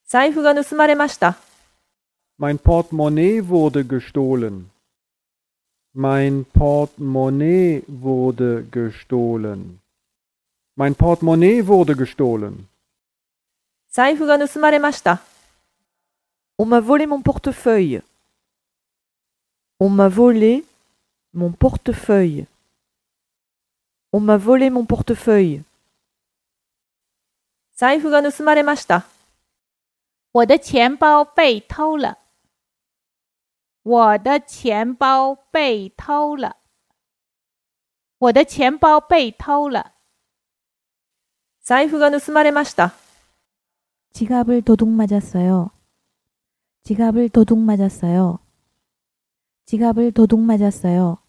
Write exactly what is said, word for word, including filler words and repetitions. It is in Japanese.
財布が盗まれました。 Mein Portemonnaie wurde gestohlen. Mein Portemonnaie wurde gestohlen. Mein Portemonnaie wurde gestohlen. 財布が盗まれました。 On m'a volé mon portefeuille. On m'a volé mon portefeuille. On m'a volé mon portefeuille. 財布が盗まれました。 我的钱包被偷了。我的钱包被偷了。我的钱包被偷了。 財布が盗まれました。 지갑을 도둑 맞았어요. 지갑을 도둑 맞았어요. 지갑을 도둑 맞았어요.